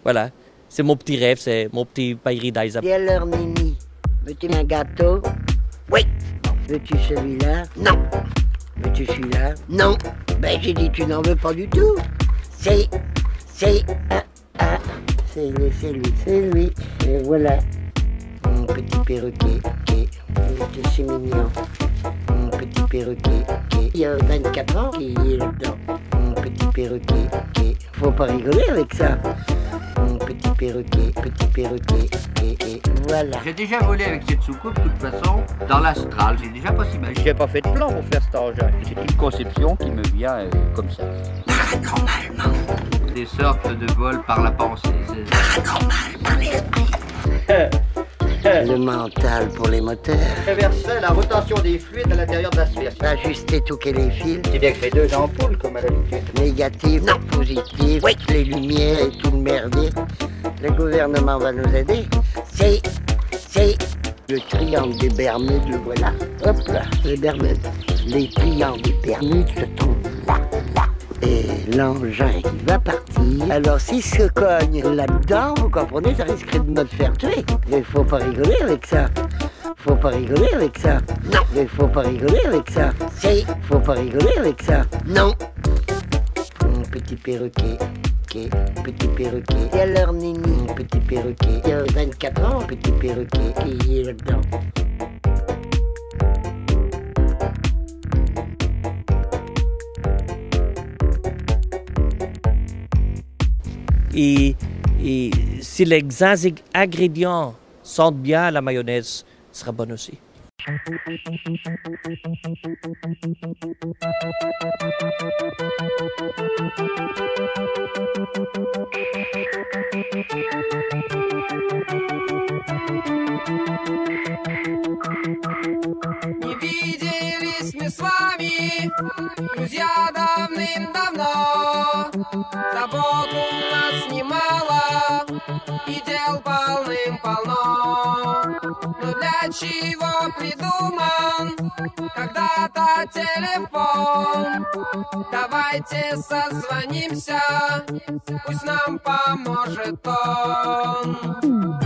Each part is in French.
Voilà, c'est mon petit rêve, c'est mon petit paradise. Et alors, Nini, veux-tu un gâteau? Oui. Veux-tu celui-là? Non. Veux-tu celui-là? Non. Ben, j'ai dit tu n'en veux pas du tout. C'est lui. Et voilà. Mon petit perroquet, c'est mignon. Mon petit perroquet, il y a 24 ans qui est là-dedans. Mon petit perroquet, faut pas rigoler avec ça. Mon petit perroquet, et voilà. J'ai déjà volé avec cette soucoupe, de toute façon, dans l'astral. J'ai déjà pas si mal. J'ai pas fait de plan pour faire cet engin. C'est une conception qui me vient comme ça. Paranormalement. Des sortes de vols par la pensée. Paranormal par l'esprit. Le mental pour les moteurs. Réverser la rotation des fluides à l'intérieur de la sphère. Ajuster tout que les fils. C'est bien créer deux ampoules comme à l'habitude. Négatif, non, positif. Oui, les lumières et tout le merdier. Le gouvernement va nous aider. C'est le triangle des Bermudes, le voilà. Hop là, les Bermudes. Les triangles des Bermudes se trouvent là. Et l'engin qui va partir. Alors s'il se cogne là-dedans, vous comprenez, ça risquerait de me faire tuer. Mais faut pas rigoler avec ça. Faut pas rigoler avec ça. Non. Mais faut pas rigoler avec ça. Faut pas rigoler avec ça. Non. Mon petit perroquet. Petit perroquet. Et alors Nini, mon petit perroquet. Il y a 24 ans, petit perroquet qui est là-dedans. Et si les ingrédients sentent bien, la mayonnaise sera bonne aussi. Не виделись мы с вами, друзья, давным-давно. Забот у нас немало, и дел полным-полно. Но для чего придуман когда-то телефон? Давайте созвонимся, пусть нам поможет он.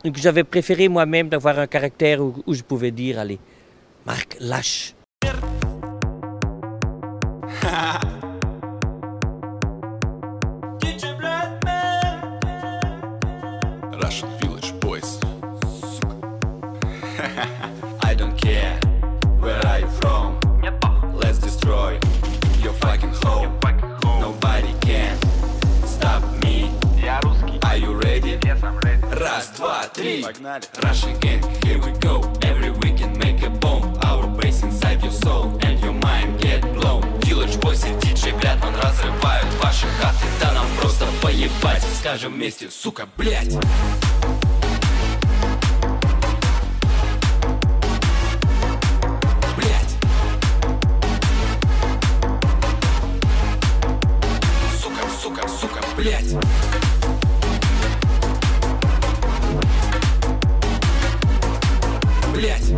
Donc j'avais préféré moi-même d'avoir un caractère où je pouvais dire, allez, Marc, lâche. Russian Village Boys. I don't care where are you from. Let's destroy your fucking home. Nobody can stop me. Are you ready? Yes, I'm ready. Раз, два, три. Russian gang, here we go. Every weekend make a bomb. Our bass inside your soul and your mind get blown. Village Boys и DJ Блядман разрывают ваши хаты. Да нам просто поебать. Скажем вместе, сука, блядь. Блядь. Сука, сука, сука, блядь. Блядь.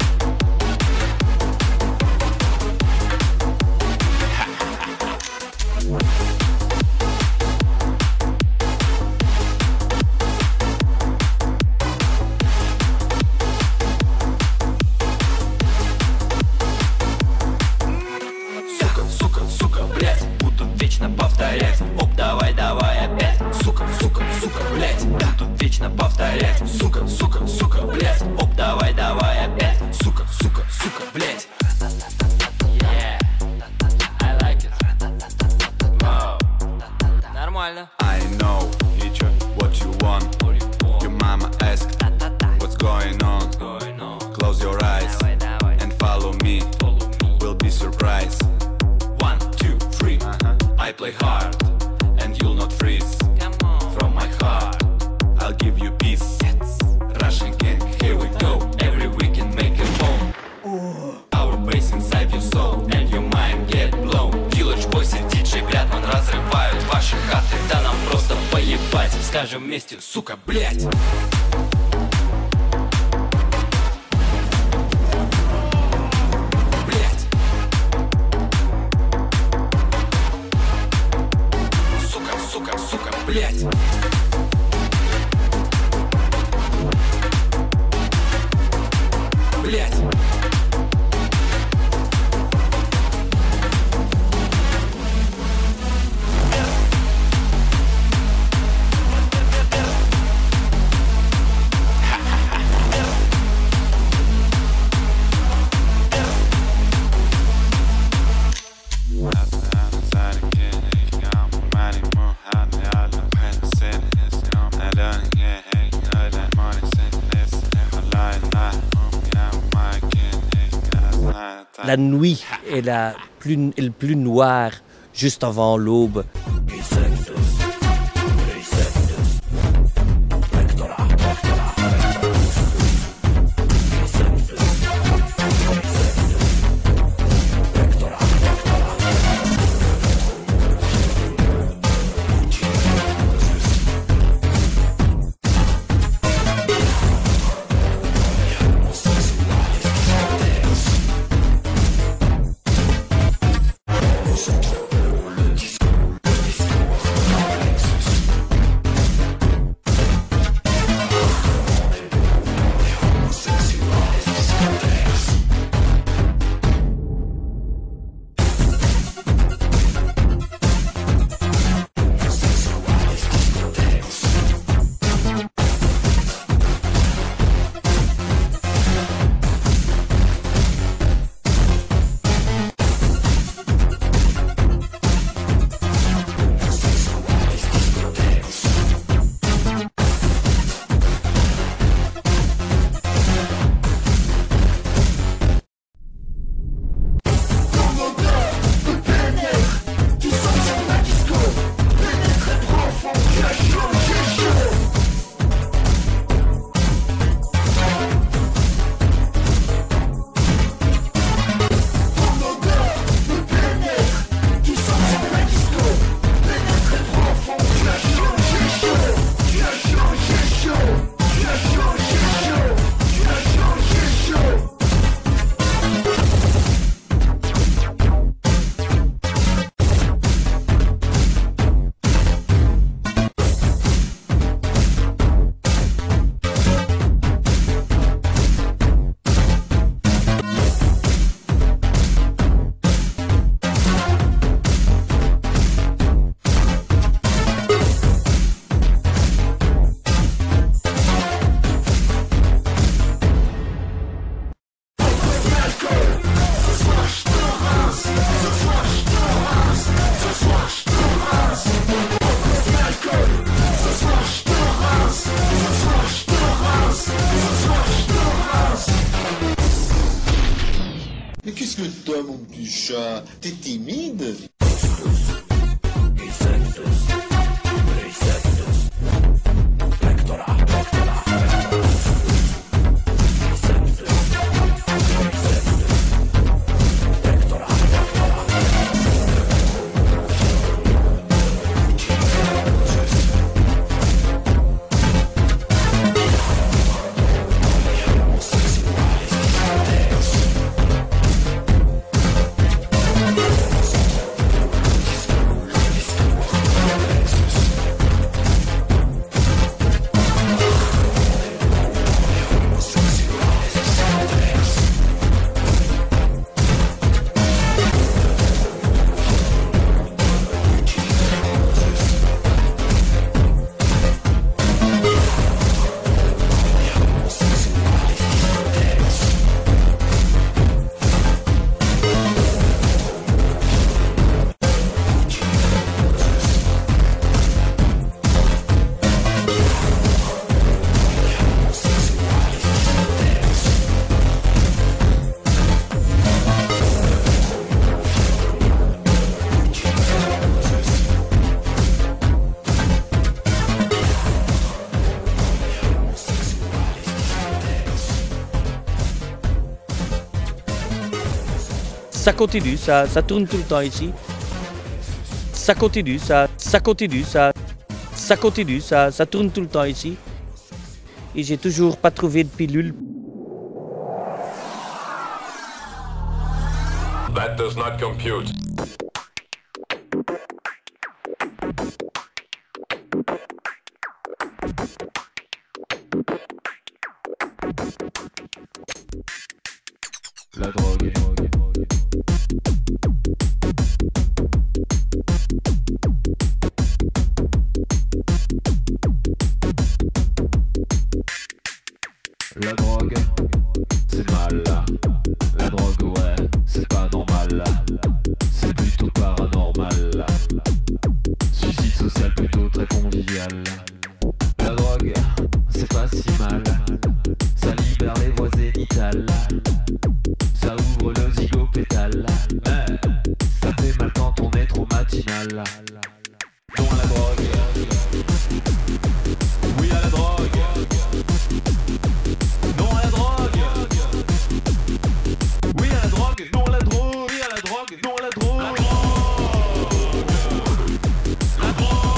Сука, сука, сука, блядь. Буду вечно повторять. Оп, давай, давай опять. Сука, сука, сука, блядь. Буду вечно повторять. Сука, сука, сука, блядь. Оп, давай, давай опять. Сука, сука, сука, блядь. Yeah, I like it. Wow. Нормально. I know, teacher, what you want. Your mama asked, what's going on? Close your eyes and follow me. We'll be surprised. 1, 2, 3. I play hard and you'll not freeze. Come on. From my heart, I'll give you peace. Russian gang, here we go. Every weekend make a bomb. Our bass inside your soul and your mind get blown. Village Boys и DJ Блядман разрывают ваши хаты. Да нам просто поебать. Скажем вместе, сука, блядь. Блядь. Сука, сука, сука, блядь. Блядь. La nuit est le plus noir, juste avant l'aube. que t'as, mon petit chat? T'es timide? Ça continue, ça tourne tout le temps ici. Ça continue, ça continue, ça continue, ça tourne tout le temps ici. Et j'ai toujours pas trouvé de pilule. That does not compute. La drogue. La drogue, c'est mal. La drogue, ouais, c'est pas normal. C'est plutôt paranormal. Suicide social plutôt très convivial. La drogue, c'est pas si mal. Ça libère les voies zénitales. Ça ouvre le zygopétal. Mais ça fait mal quand on est trop matinal. Non à la drogue. Oui à la drogue. Non à la drogue. Oui à la drogue. Non à la drogue. Oui à la drogue. Non à la drogue. La drogue. La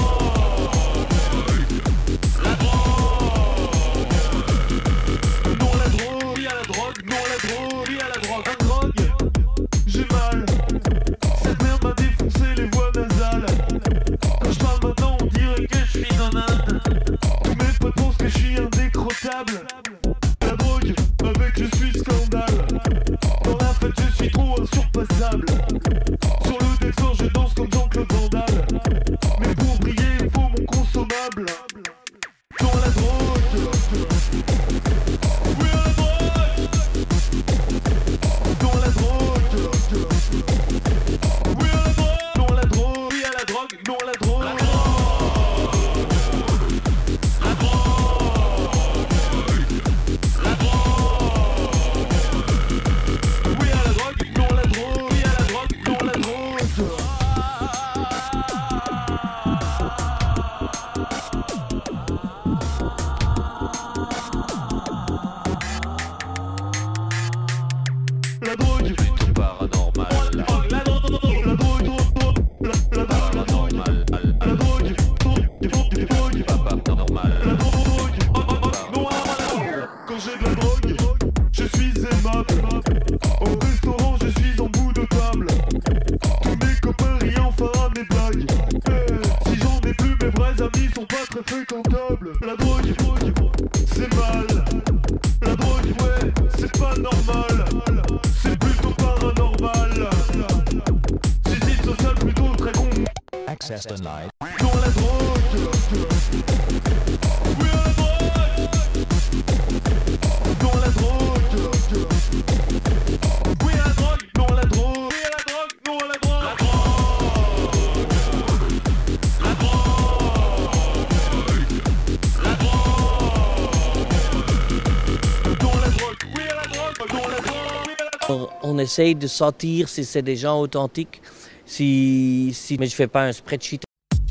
drogue. La drogue. Non à la drogue. Oui à la drogue. Non à la drogue. Oui à la drogue. La drogue. J'ai mal. Cette merde m'a défoncé les voies nasales. Quand je parle maintenant on dirait que je suis un âne. Tous mes potes pensent que je suis indécrottable. La drogue, avec je suis scandale. Dans la fête je suis trop insurpassable. Sur le décor je danse comme Jean-Claude Van Damme. Mais pour briller il faut mon consommable. Dans la drogue. Oui à la drogue. Dans la drogue. Oui à la drogue. Dans la drogue. Oui à la drogue. Dans la drogue. La drogue. La drogue. Oui à la drogue. Dans la drogue. Oui à la drogue. Dans la drogue. La drogue, plutôt paranormal. La drogue, la drogue, la drogue, la paranormal. La drogue, pas paranormal. La drogue, non à la drogue. Quand j'ai de la drogue, je suis aimable. Au restaurant, je suis en bout de table. Tous mes copains rient enfin à mes blagues. Si j'en ai plus, mes vrais amis sont pas très fréquentables. La drogue, c'est mal. La drogue, ouais, c'est pas normal. C'est plutôt paranormal. Suicide social plutôt très con. Access denied. Dans la drogue. Oui à la drogue. Dans la drogue. Oui à la drogue. Dans la drogue. Oui à la drogue. Non à la drogue. La drogue. La drogue. La drogue. Dans la drogue. Oui à la drogue. Dans la drogue. Oui à la drogue. On essaye de sentir si c'est des gens authentiques, mais je fais pas un spreadsheet.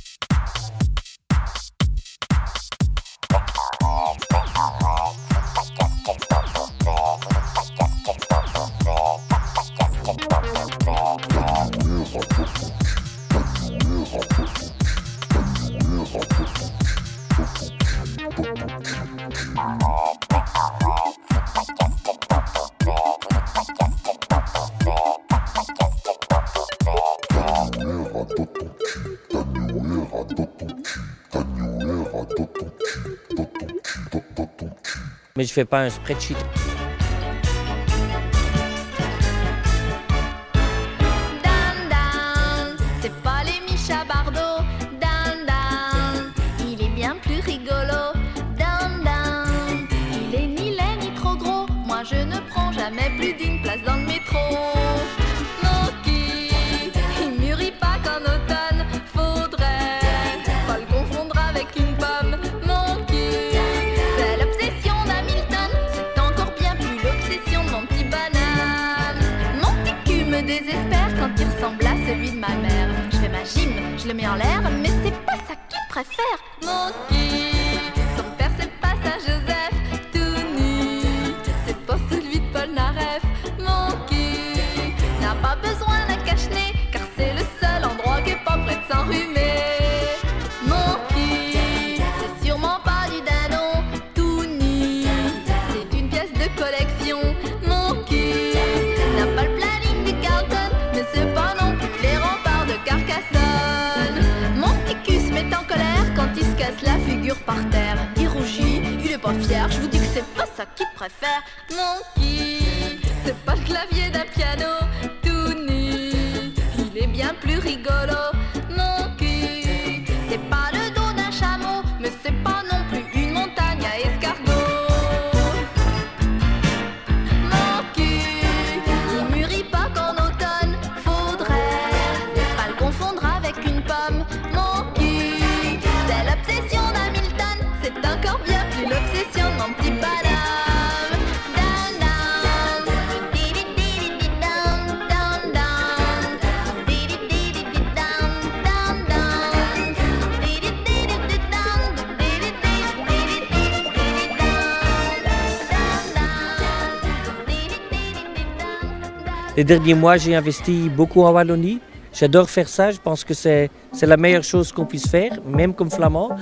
Mais je fais pas un spreadsheet. Dan Dan, c'est pas les Micha Bardot. Dan Dan, il est bien plus rigolo. Dan Dan, il est ni laid ni trop gros. Moi je ne prends jamais plus d'une place dans le métro. Monkey, il mûrit pas qu'en automne. Faudrait pas le confondre avec une pomme. Monkey, c'est l'obsession d'Hamilton. C'est encore bien plus l'obsession de mon petit banane. Mon petit cul me désespère quand il ressemble à celui de ma mère. Je fais ma gym, je le mets en l'air, mais c'est pas ça qu'il préfère. Monkey, son père c'est pas ça Joseph, tout nu. C'est pas celui de Paul Naref. Monkey n'a pas besoin d'un cache-nez, car c'est le seul endroit qui est pas près de s'enrhumer. Monkey, c'est sûrement pas du dindon, tout nu. C'est une pièce de collection. Monkey n'a pas le planning du Carlton, mais c'est pas non plus les remparts de Carcassonne. Mon petit cul se met en colère quand il se casse la figure par terre. Il rougit, il est pas fier, je vous dis que c'est pas ça qu'il préfère. Monkey, c'est pas le clavier d'un piano, tout nu. Il est bien plus rigolo. Monkey, c'est pas le dos d'un chameau, mais c'est pas non plus une montagne à escargots. Monkey, il mûrit pas qu'en automne. Faudrait pas le confondre avec une pomme. Monkey, c'est l'obsession d'Hamilton. C'est encore bien plus l'obsession de mon petit padam. Dan dan, di-di-di-di-di-dan, dan dan, di-di-di-di-di-dan, dan dan, di-di-di-di-di-dan, di-di-di-di-di-dan. Les derniers mois, j'ai investi beaucoup en Wallonie. J'adore faire ça. Je pense que c'est la meilleure chose qu'on puisse faire, même comme flamand.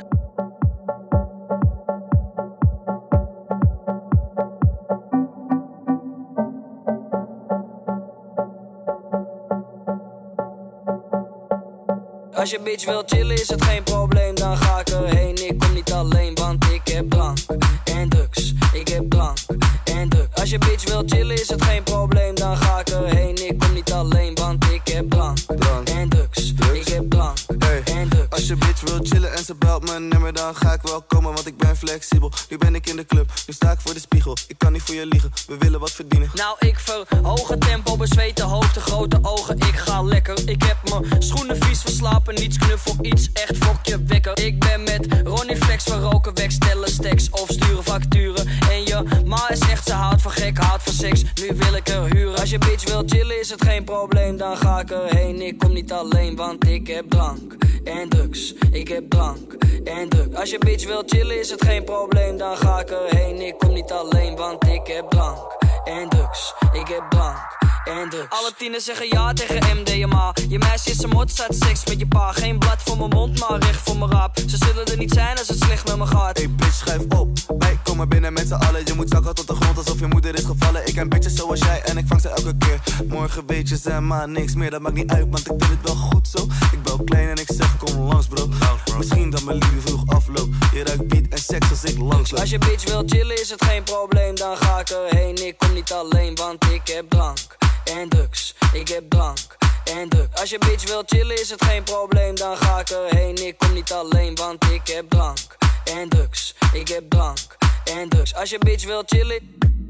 Als je bitch wil chillen is het geen probleem, dan ga ik erheen. Ik kom niet alleen, want ik heb drank en drugs. Ik heb drank en drugs. Als je bitch wil chillen is het geen probleem, dan ga ik erheen. Ik kom niet alleen, want ik heb drank en drugs. Ik heb drank en drugs. Als je bitch wil chillen en ze belt mijn nummer, dan ga ik wel komen, want ik ben flexibel. Nu ben ik in de club, nu sta ik voor de spiegel. Ik kan niet voor je liegen, we willen wat verdienen. Nou, ik verhoog het tempo, bezweet hoofd, de grote ogen. Ik ga lekker, ik heb mijn schoenen vies verslapen. Niets knuffel, iets echt fokje wekker. Ik ben met Ronnie Flex, we roken weg, stellen stacks of sturen facturen. En je ma is echt, ze houdt van gek, houdt van seks. Nu wil ik er huren. Als je bitch wil chillen is het geen probleem, dan ga ik erheen. Ik kom niet alleen, want ik heb drank en drugs. Ik heb drank en drugs. Als je bitch wil chillen is het geen probleem, dan ga ik erheen. Ik kom niet alleen, want ik heb drank en drugs. Ik heb drank en drugs. Alle tieners zeggen ja tegen MDMA. Je meisje is een mot, staat seks met je pa. Geen blad voor mijn mond, maar recht voor mijn raap. Ze zullen er niet zijn als het slecht met me gaat. Hey bitch, schuif op. Wij komen binnen met z'n allen. Je moet zakken tot de grond alsof je moeder is gevallen. Ik ken bitches zoals jij en ik vang ze elke keer. Morgen weet je ze maar niks meer, dat maakt niet uit, want ik vind het wel goed zo. Ik bel klein en ik zeg kom langs bro. Misschien dat mijn liefde vroeg afloopt. Je ruikt beat en seks als ik langsloop. Als je bitch wil chillen is het geen probleem, dan ga ik erheen. Ik kom niet alleen, want ik heb drank en drugs. Ik heb drank en drugs. Als je bitch wil chillen is het geen probleem, dan ga ik erheen. Ik kom niet alleen, want ik heb drank en drugs. Ik heb drank en drugs. Als je bitch wil chillen,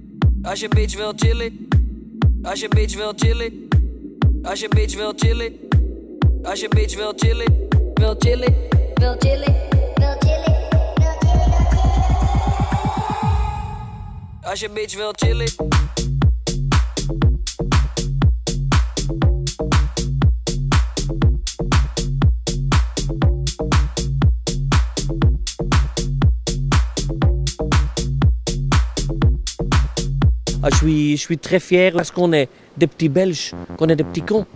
als je bitch wil chillen, als je bitch wil chillen, als je bitch wil chillen, als je bitch wil chillen, wil chillen, wil chillen, wil chillen. Als je bitch wil chillen, je suis très fier parce qu'on est des petits Belges, qu'on est des petits cons.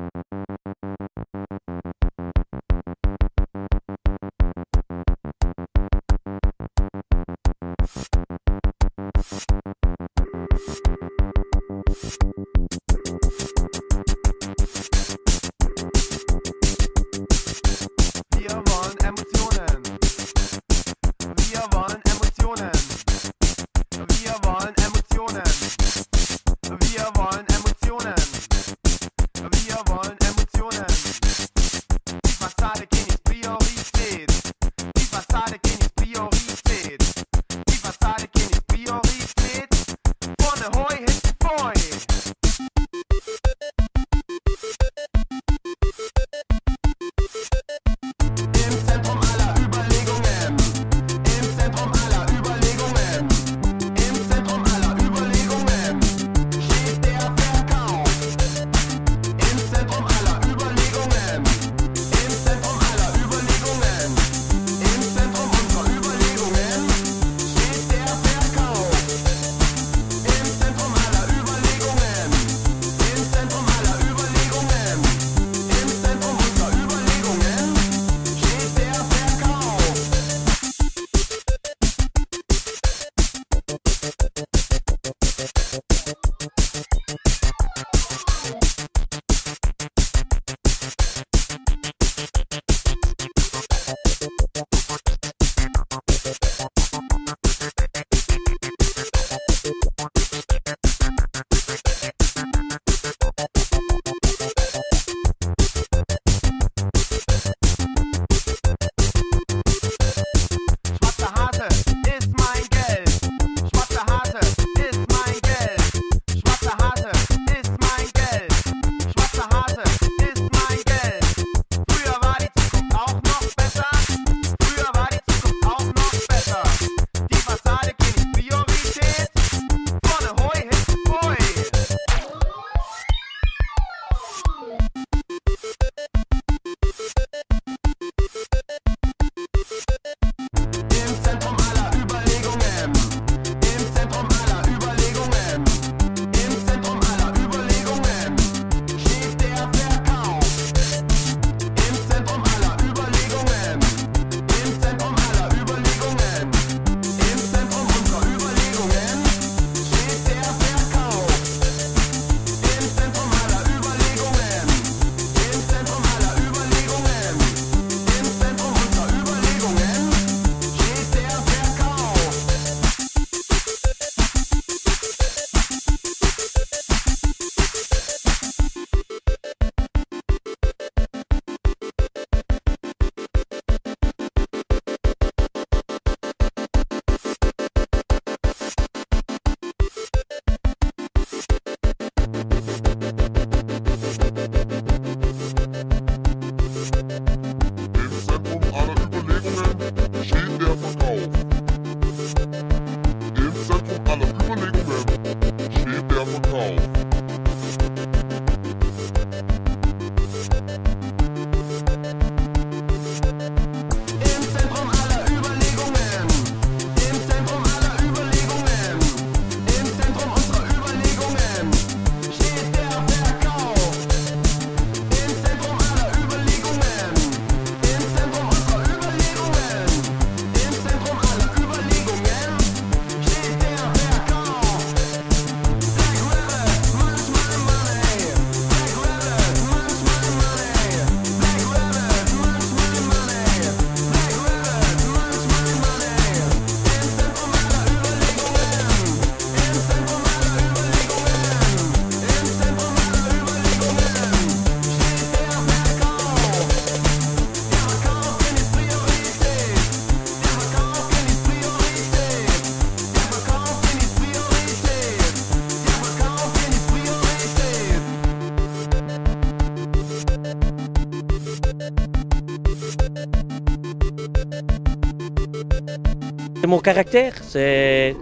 Mon caractère, c'est...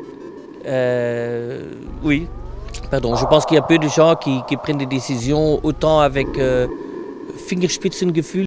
oui, pardon, je pense qu'il y a peu de gens qui prennent des décisions autant avec Fingerspitzengefühl.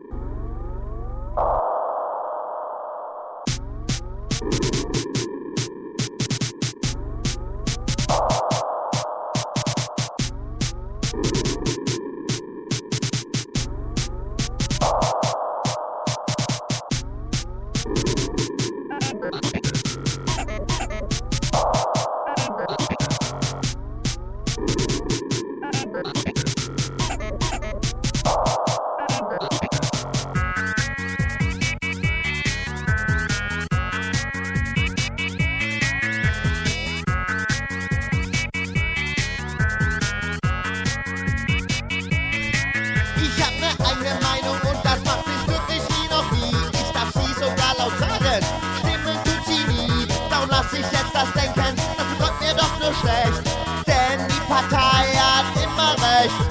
die Partei hat immer recht.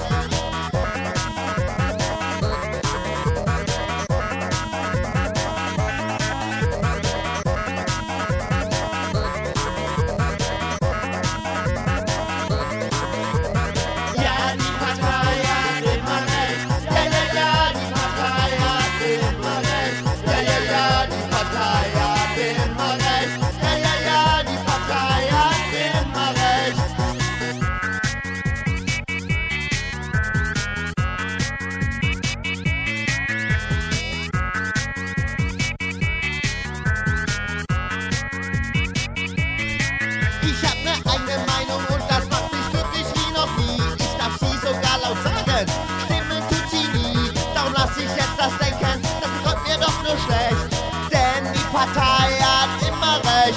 Partei hat immer recht.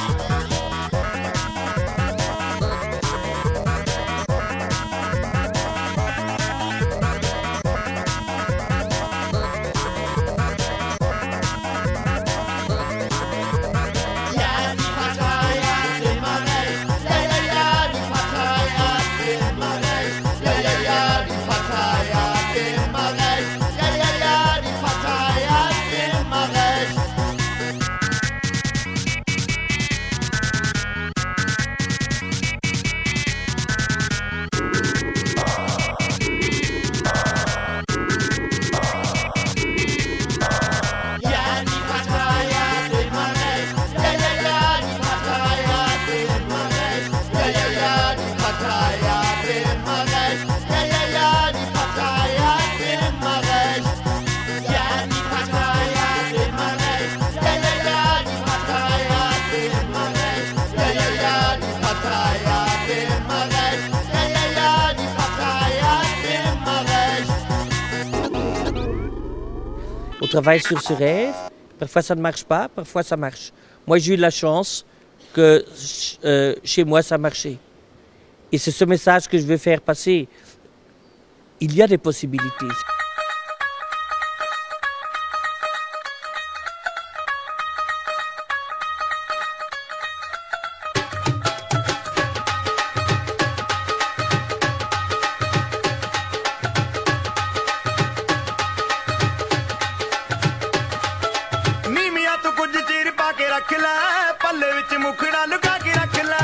On travaille sur ce rêve, parfois ça ne marche pas, parfois ça marche. Moi j'ai eu la chance que chez moi ça marchait. Et c'est ce message que je veux faire passer. Il y a des possibilités. रख लै पल्ले विच मुखड़ा लुका के रख लै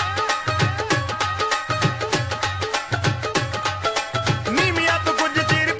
नी मियां तू कुछ चीर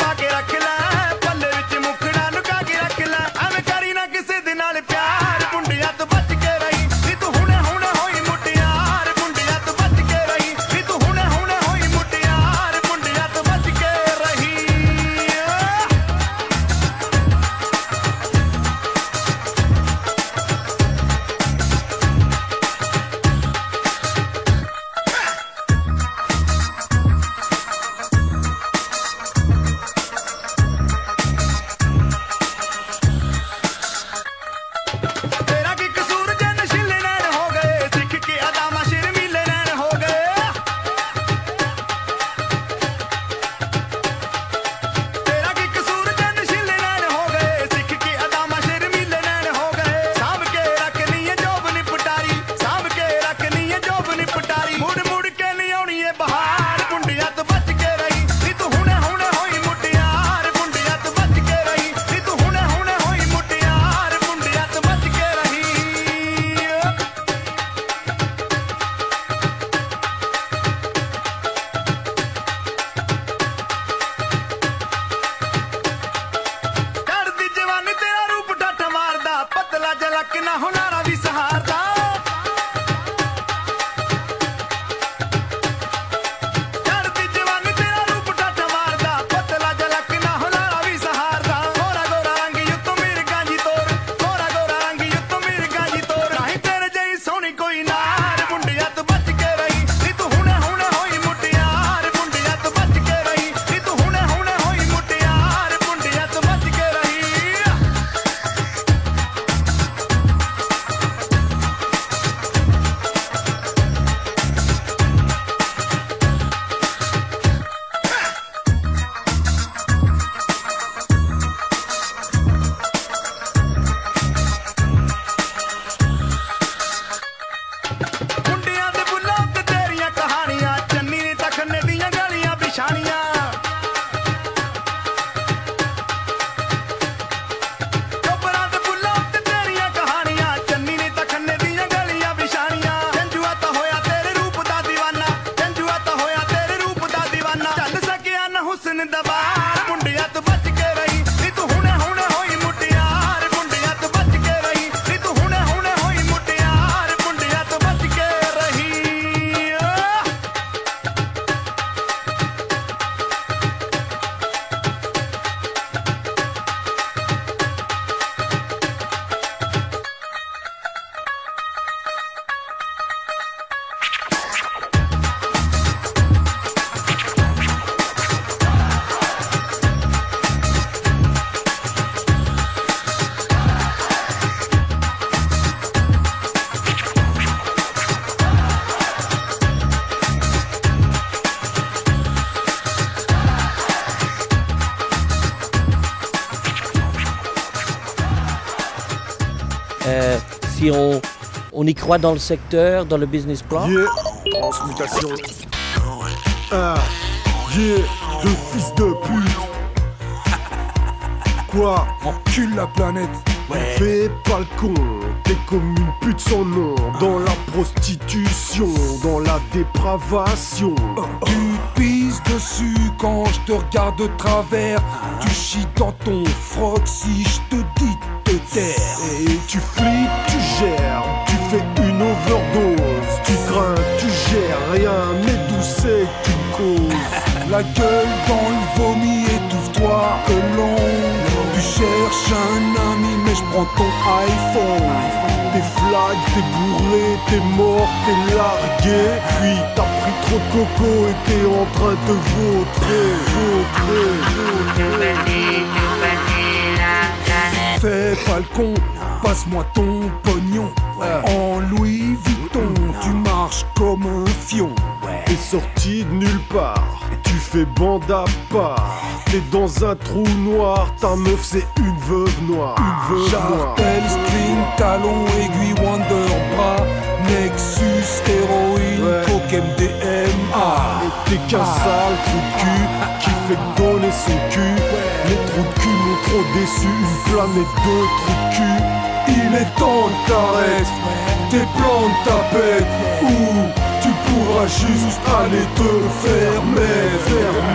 ਦਿਨ ਦਾ ਵਾਰ ਮੁੰਡਿਆਂ ਤੋਂ ਬਚ ਕੇ ਰਹੀ ਨੀ ਤੂੰ ਹੁਣੇ ਹੁਣੇ ਹੋਈ ਮੁਟਿਆਰ ਮੁੰਡਿਆਂ ਤੋਂ ਬਚ ਕੇ ਰਹੀ ਨੀ ਤੂੰ ਹੁਣੇ ਹੁਣੇ ਹੋਈ ਮੁਟਿਆਰ ਮੁੰਡਿਆਂ ਤੋਂ ਬਚ ਕੇ ਰਹੀ Si on y croit dans le secteur, dans le business plan. Yeah, transmutation. Ah, yeah, le fils de pute. Quoi? Encule la planète. Ouais. Fais pas le con, t'es comme une pute sans nom. Dans la prostitution, dans la dépravation. Tu pisses dessus quand je te regarde de travers. Tu chies dans ton froc si je te dis de te taire. Et tu flippes, tu gères, tu fais une overdose. Tu crains, tu gères, rien n'est d'où c'est que tu causes. La gueule dans le vomi, étouffe-toi alone. Tu cherches un ami mais je prends ton iPhone. T'es flag, t'es bourré, t'es mort, t'es largué. Puis t'as pris trop de coco et t'es en train de vautrer. Fais pas le con, passe-moi ton pognon. En Louis Vuitton, tu marches comme un fion. T'es sorti de nulle part, tu fais bande à part. T'es dans un trou noir, ta meuf c'est une veuve noire. Chartel, string, talon, aiguille, wonder, bras, Nexus, héroïne, coke, MDMA. Et t'es qu'un sale trou de cul qui fait donner son cul. Les trous de cul m'ont trop déçu, une planète de trous de cul. Il est temps que t'arrêtes tes plans de tapette, ou tu pourras juste aller te faire mettre.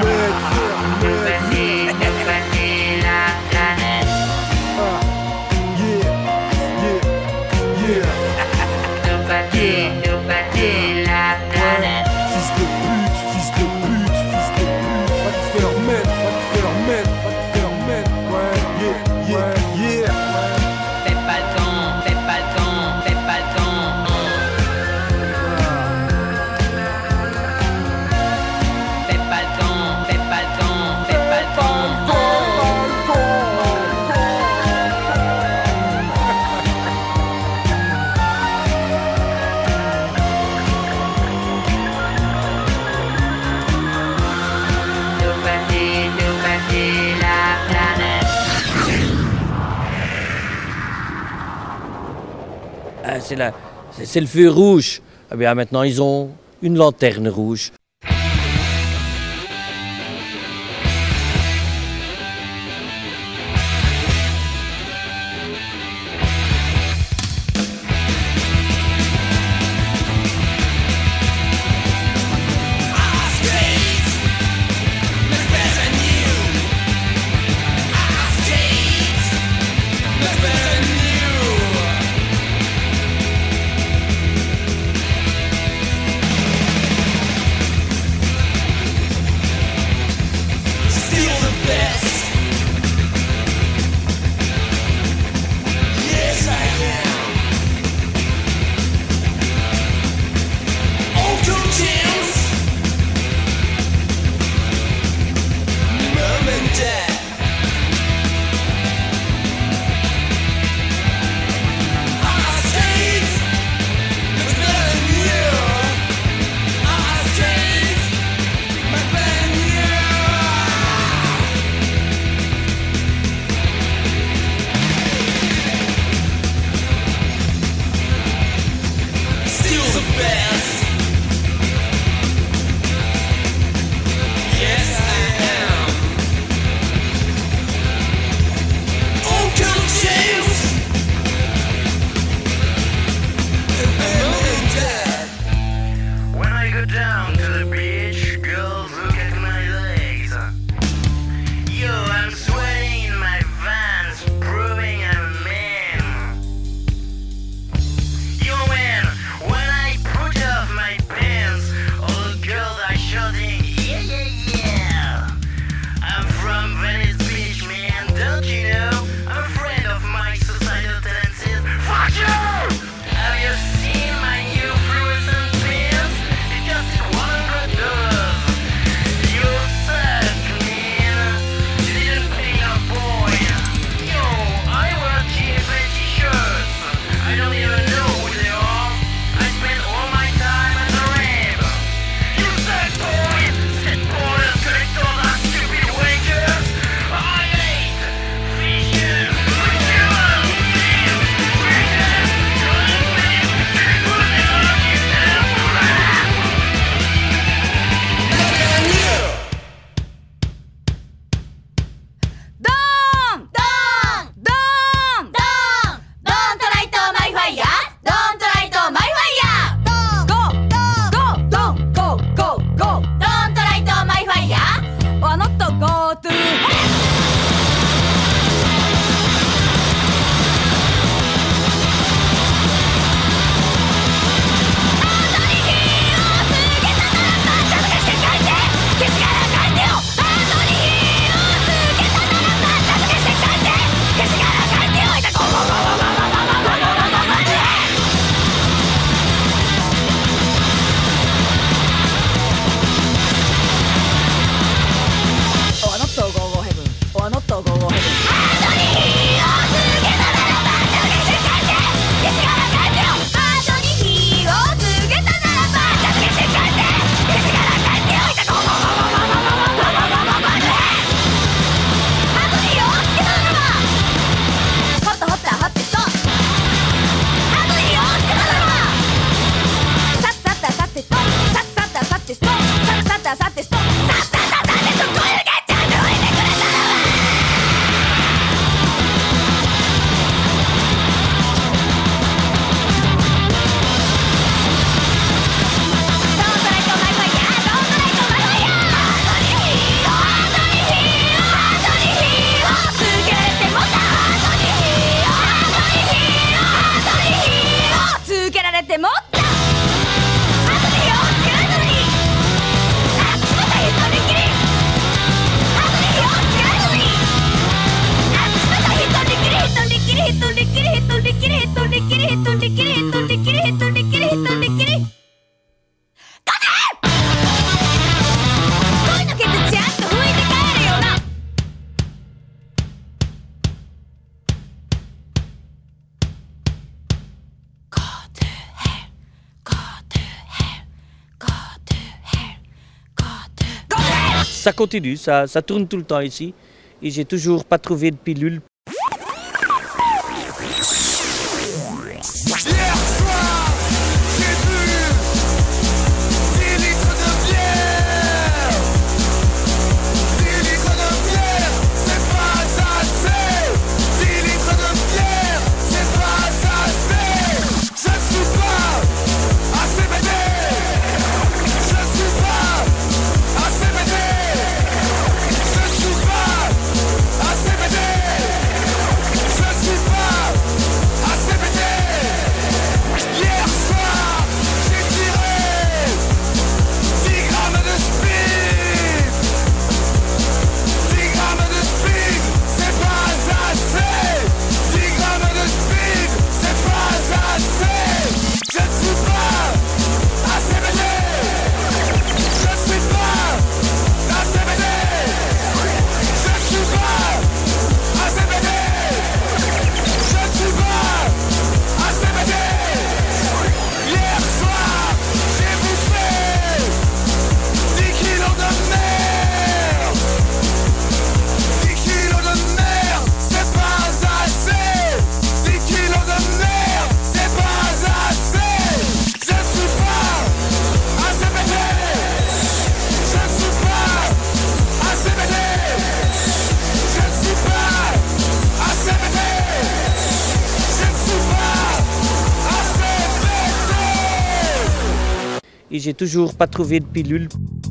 C'est le feu rouge. Eh bien, maintenant, ils ont une lanterne rouge. Ça continue, ça tourne tout le temps ici. Et j'ai toujours pas trouvé de pilule. Hier soir, j'ai bu 10 litres de bière. 10 litres de bière, c'est pas assez. 10 litres de bière, c'est pas assez. Je ne suis pas assez BD. Je ne suis pas assez BD. Je ne suis pas assez BD. Je ne suis pas assez BD. Hier soir, j'ai tiré 10 grammes de speed. 10 grammes de speed, c'est pas assez. 10 grammes de speed, c'est pas assez. Je ne suis pas assez BD. Je ne suis pas assez BD. Je ne suis pas assez BD. Je ne suis pas assez BD. Hier soir, j'ai bouffé 10 kilos de merde. 10 kilos de merde, c'est pas assez. 10 kilos de merde, c'est pas assez. Je suis pas assez BD. Je suis pas assez BD. Je suis pas assez BD. Je suis pas assez BD. Et j'ai toujours pas trouvé de pilule.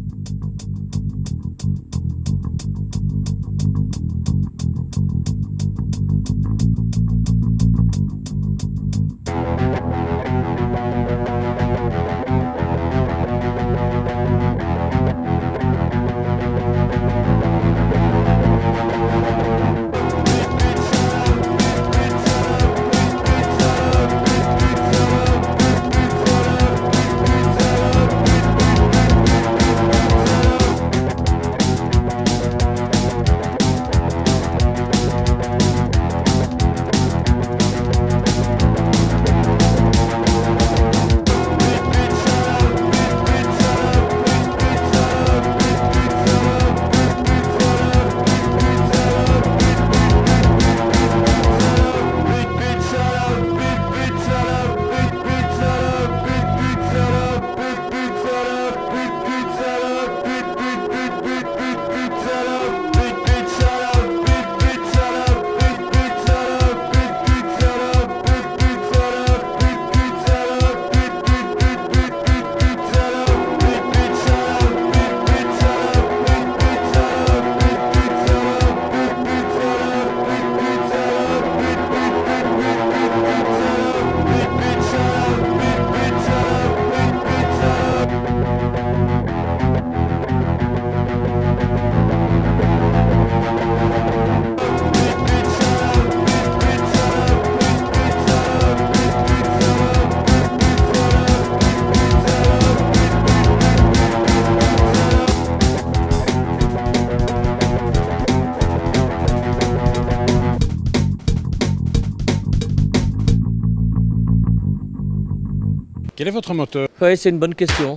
Quel est votre moteur? Ouais, c'est une bonne question.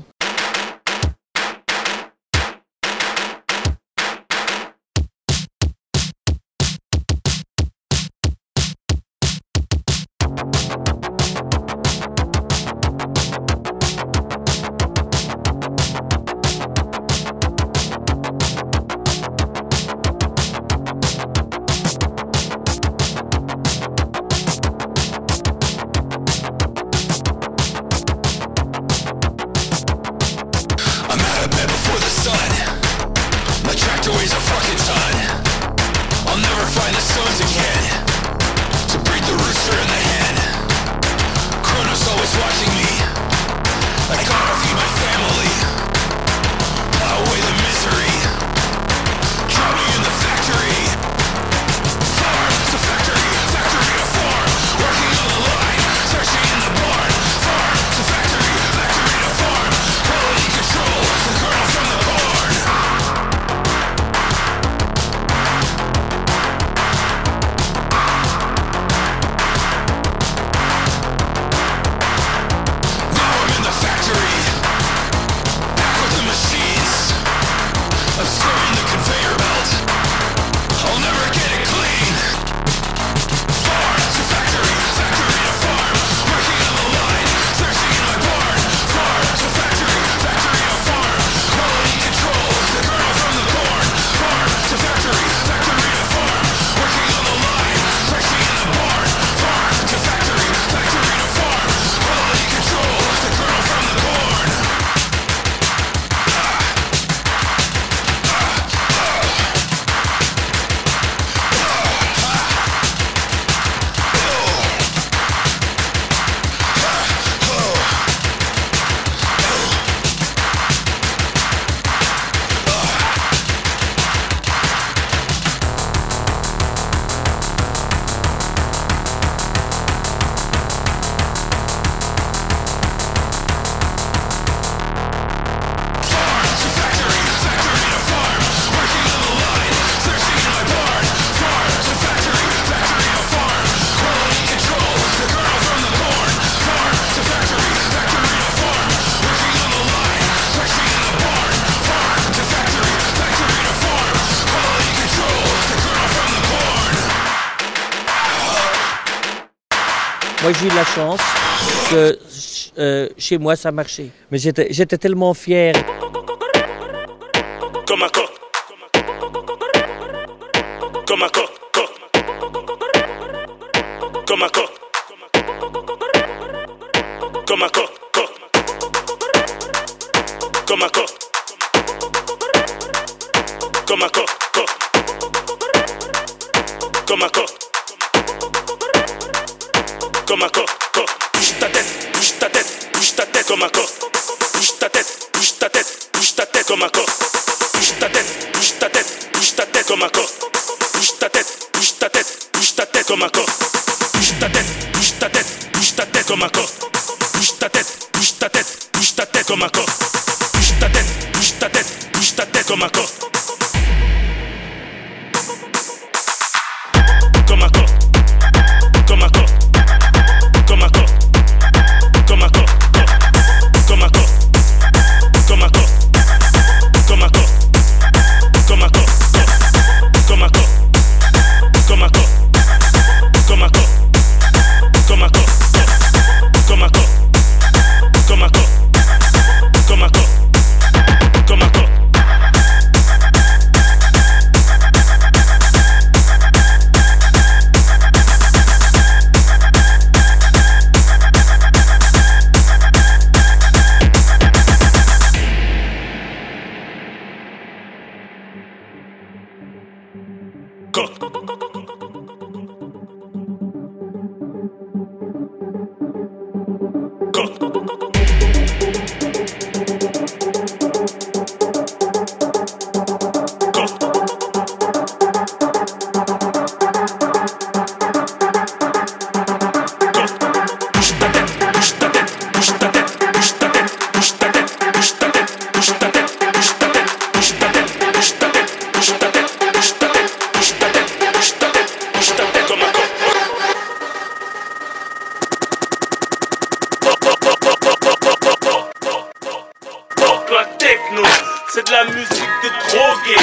Moi, j'ai eu la chance que chez moi, ça marchait. Mais j'étais tellement fier. Comme un corps. Comme un corps. Comme un corps. Comme un corps. Comme un corps. Comme un corps. Comme un corps. Comme un corps. Bouge ta tête, bouge ta tête, bouge ta tête comme un corps. Bouge ta tête, bouge ta tête, bouge ta tête comme un corps. Bouge ta tête, bouge ta tête, bouge ta tête comme un corps. Bouge ta tête, bouge ta tête, bouge ta tête comme un corps. Bouge ta tête, bouge ta tête, bouge ta tête comme un corps. Bouge ta tête, bouge ta tête, bouge ta tête comme un corps. Bouge ta tête, bouge ta tête, bouge ta tête comme un corps. Comme un corps. Comme un corps. Comme un corps. Comme un corps. Comme un corps. Comme un corps. Comme un corps. Comme un corps. Comme un corps. Comme un corps. Comme un corps. Comme un corps. Comme un corps. Comme un corps. Comme un corps. Comme un corps. C'est de la musique de drogué.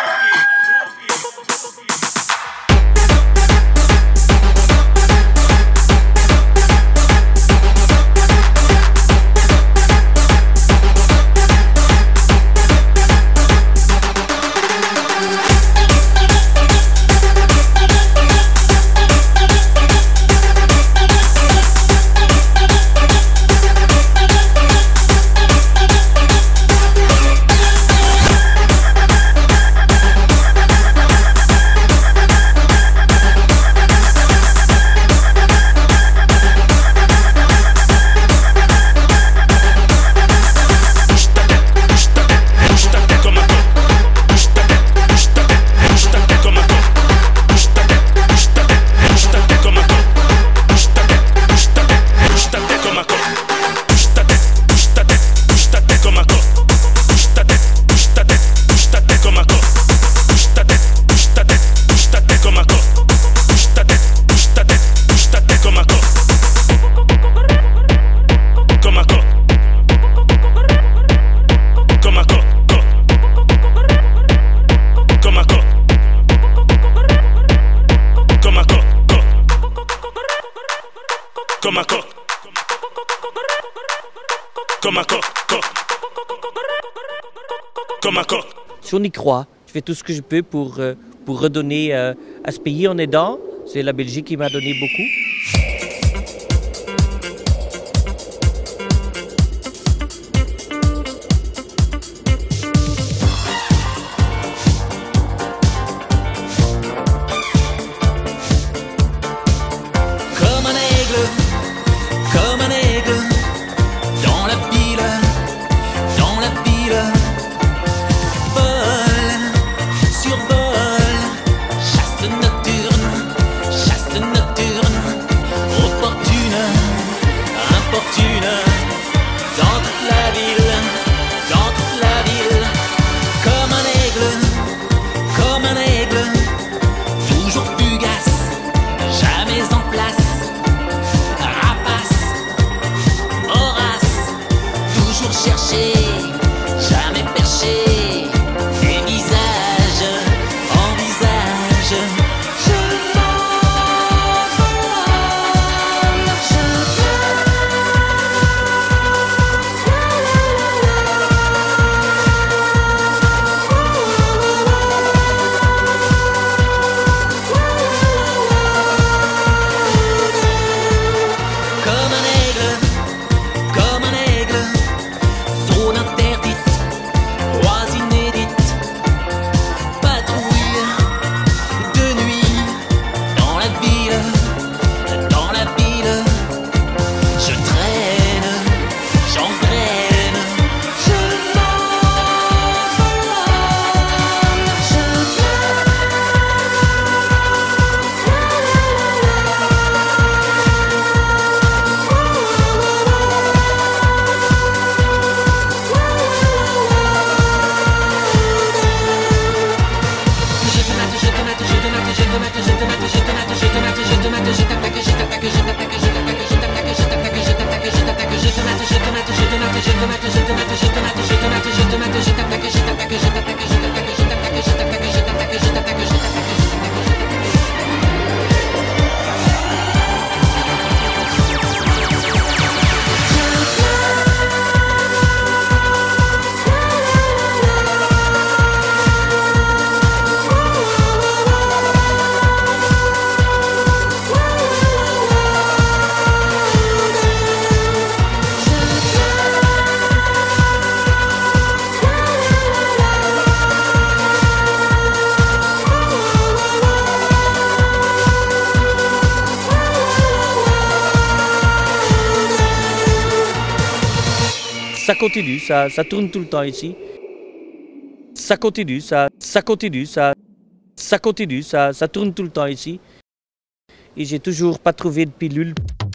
Comme un corps. Comme un corps. Comme un corps. Si on y croit, je fais tout ce que je peux pour redonner à ce pays en aidant. C'est la Belgique qui m'a donné beaucoup. Chasse nocturne, Ça continue, ça tourne tout le temps ici. Ça continue, ça continue, ça continue, ça tourne tout le temps ici. Et j'ai toujours pas trouvé de pilule.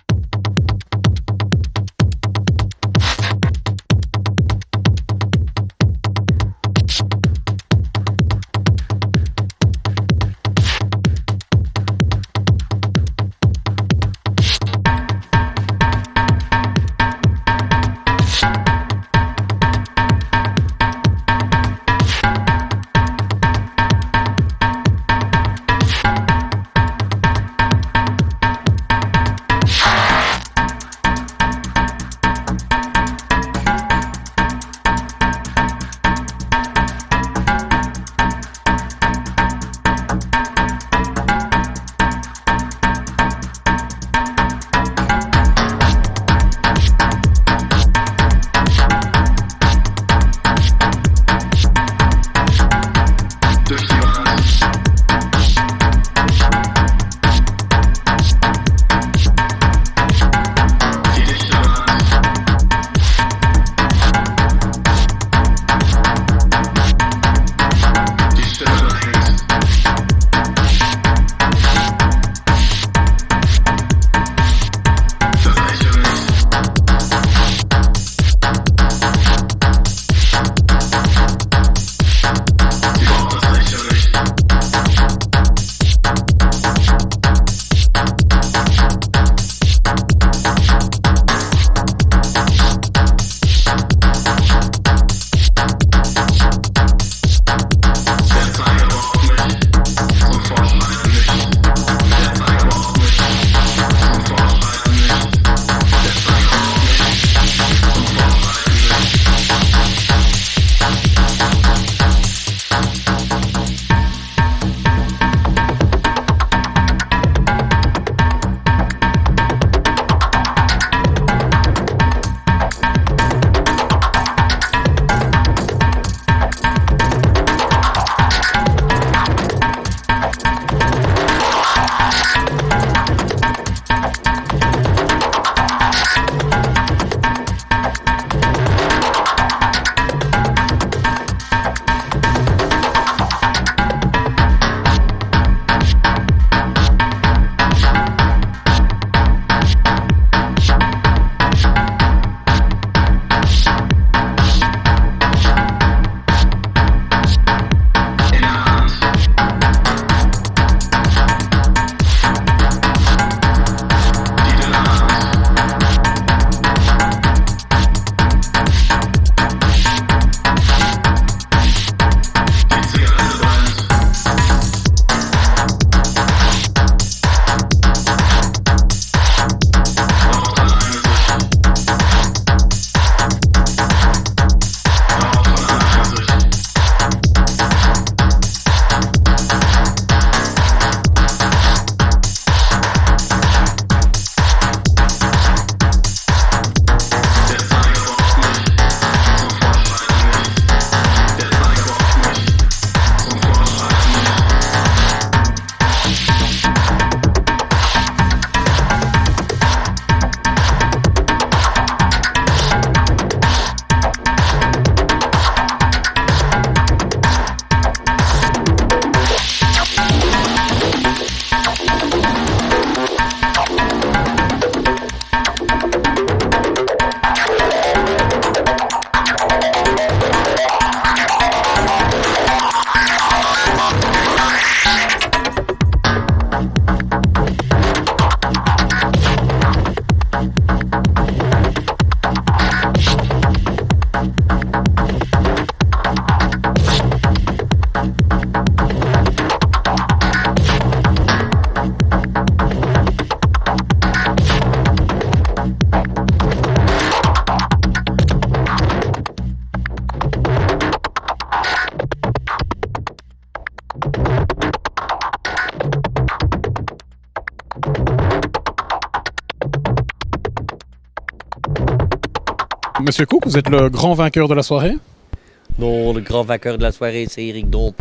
Monsieur Cook, vous êtes le grand vainqueur de la soirée? Non, le grand vainqueur de la soirée, c'est Eric Dompe.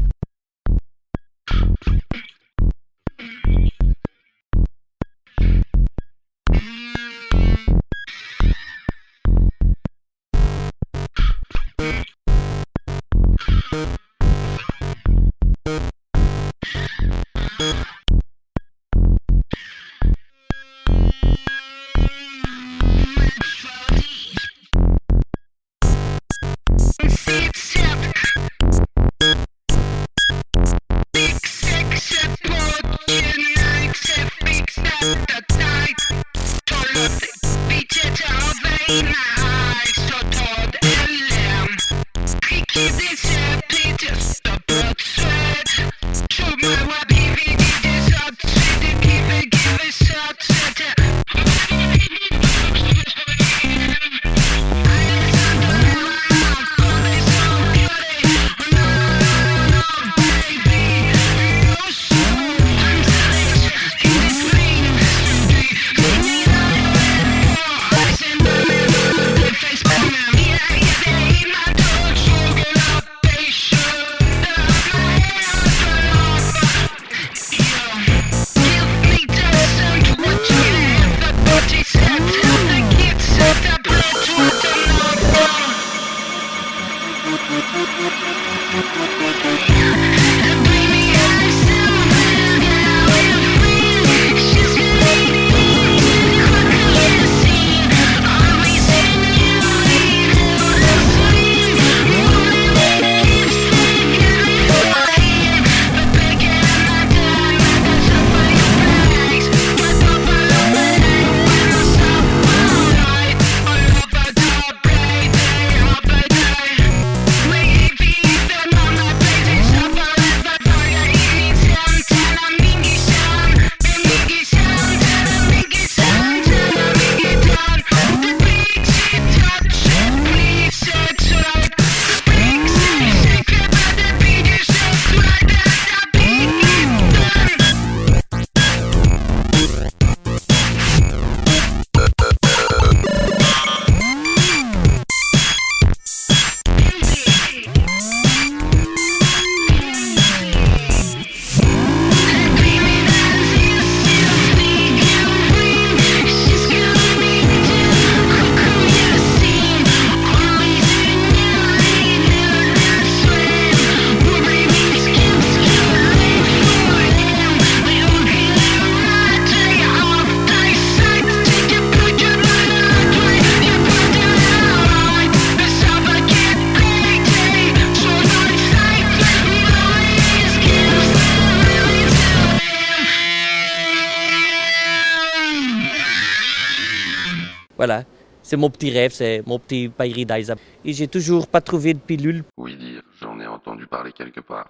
Voilà, c'est mon petit rêve, c'est mon petit paillerie d'Aïsa. Et j'ai toujours pas trouvé de pilule. Oui dire, j'en ai entendu parler quelque part.